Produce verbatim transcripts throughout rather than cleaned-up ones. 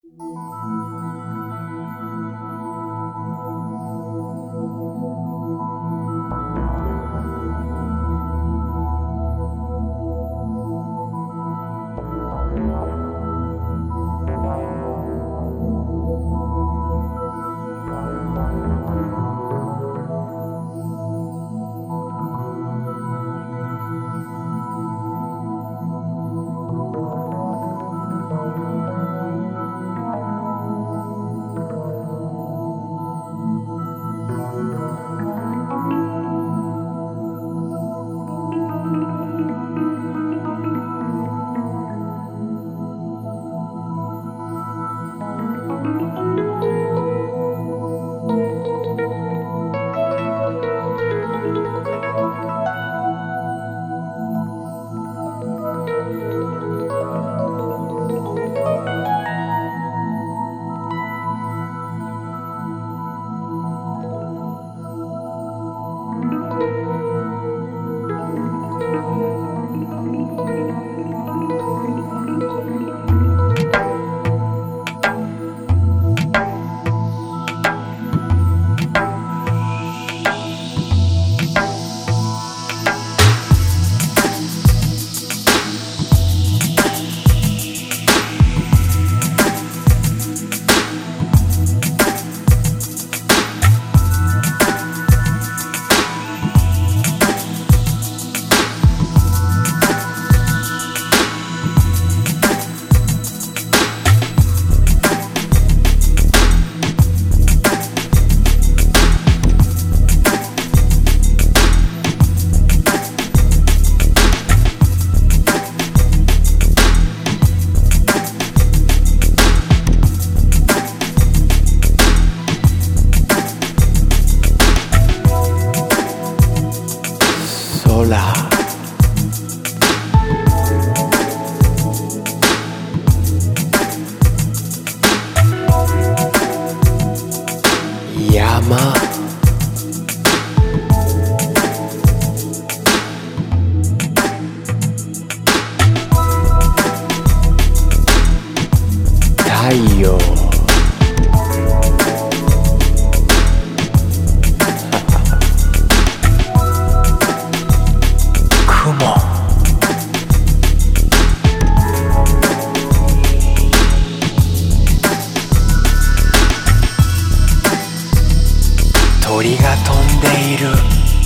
鳥が飛んでいる。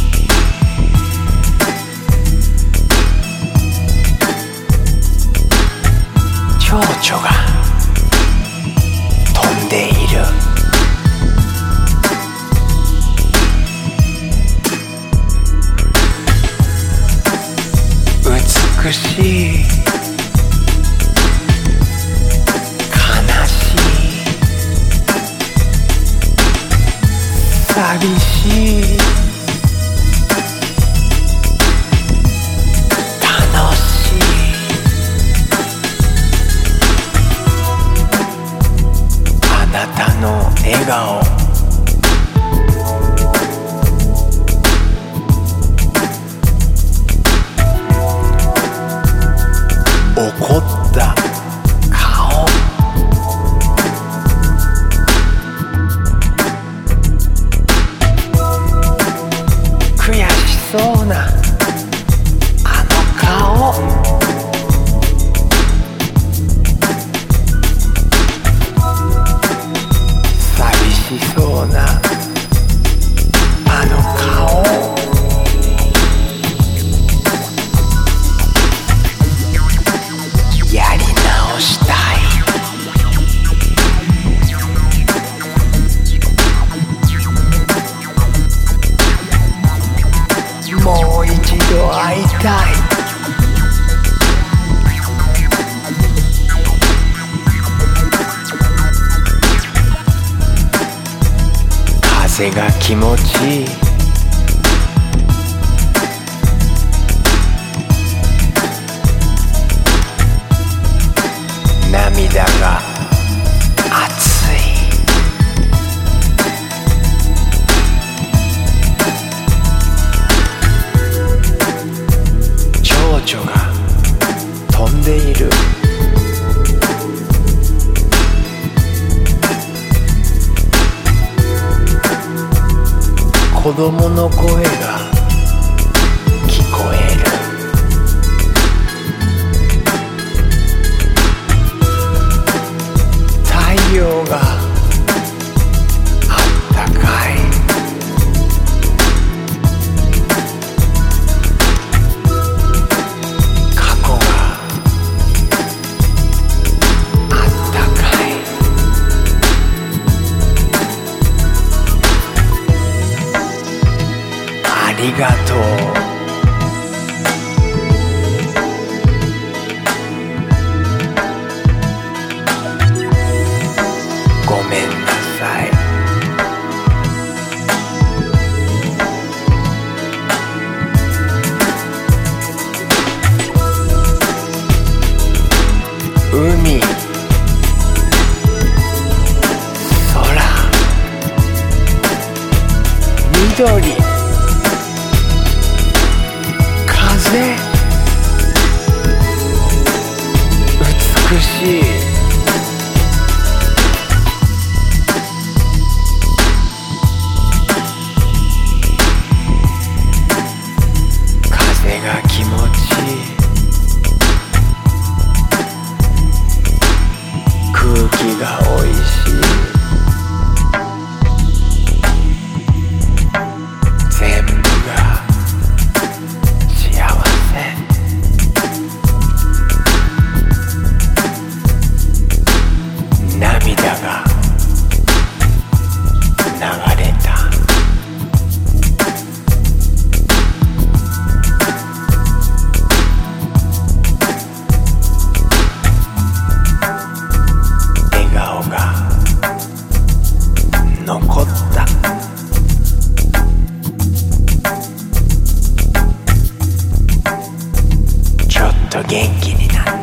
蝶々が飛んでいる。美しい、寂しい、楽しい、あなたの笑顔、怒った顔、悔しそうなあの顔、寂しそうなあの顔、やり直したい。もう一度会いたい。風が気持ちいい。涙が熱い。蝶々が飛んでいる。 子供の声が聞こえる。太陽があったかい。過去があったかい。ありがとう。ごめんなさい。海、空、緑、風、美しい。風が気持ちいい。空気がおいしい。全部が幸せ。涙が流れた。笑顔が残った。ちょっと元気になった。